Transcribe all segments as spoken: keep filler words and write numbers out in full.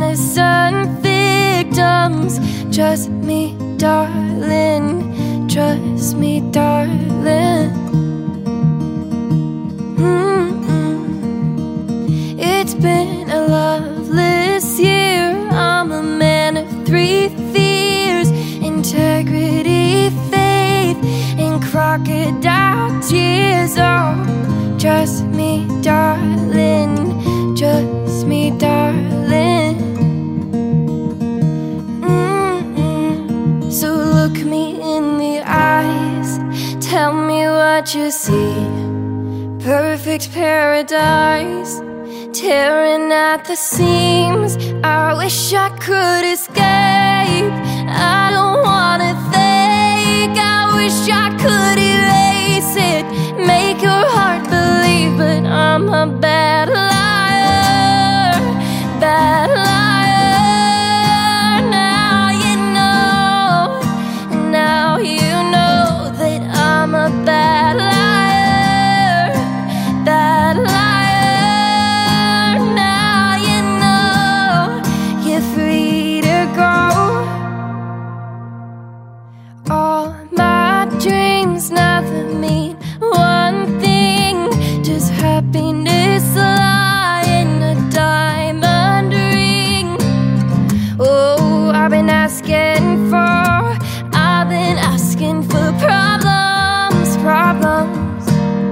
innocent victims. Trust me, darling, trust me, darling. Mm-mm. It's been a loveless year. I'm a man of three fears: integrity, faith, and crocodile tears. Oh, trust me, darling, trust me, darling. Mm-mm. So look me in the eyes, tell me what you see. Perfect paradise, tearing at the seams. I wish I could escape. I don't wanna think. I wish I could erase it, make your heart believe, but I'm a bad liar, bad liar. Now you know, now you know that I'm a bad liar, bad liar. Now you know you're free to go. All my dreams never mean one thing, just happiness lie in a diamond ring. Oh, I've been asking for, I've been asking for problems, problems.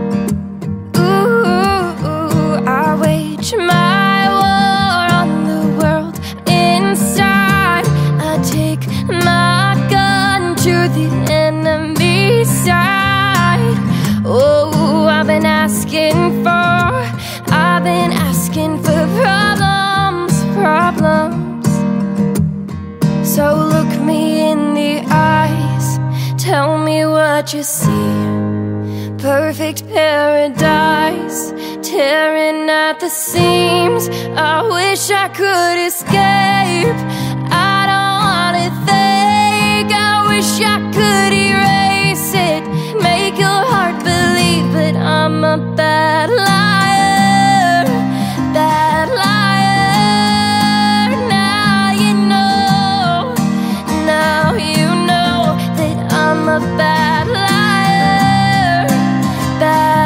Ooh, I wage my war on the world inside. I take my gun to the enemy side. Oh, I've been asking for, I've been asking for problems, problems. So look me in the eyes, tell me what you see. Perfect paradise, tearing at the seams. I wish I could escape. I don't wanna think. I wish I could erase it, make your heart believe, but I'm a bad liar, bad liar. Now you know, now you know that I'm a bad liar, bad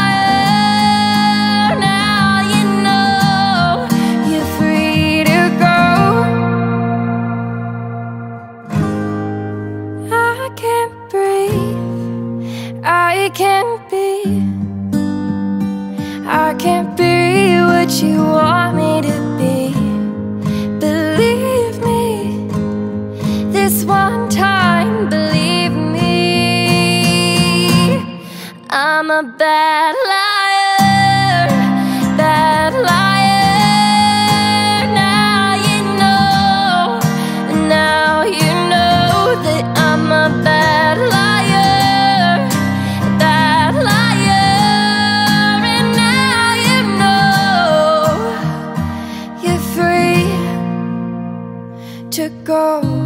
liar. Now you know you're free to go. I can't breathe, I can't be, I can't be what you want me to be. Believe me, this one time, believe me. I'm a bad liar, bad liar. Now you know, now you know that I'm a bad liar, bad liar. And now you know you're free to go.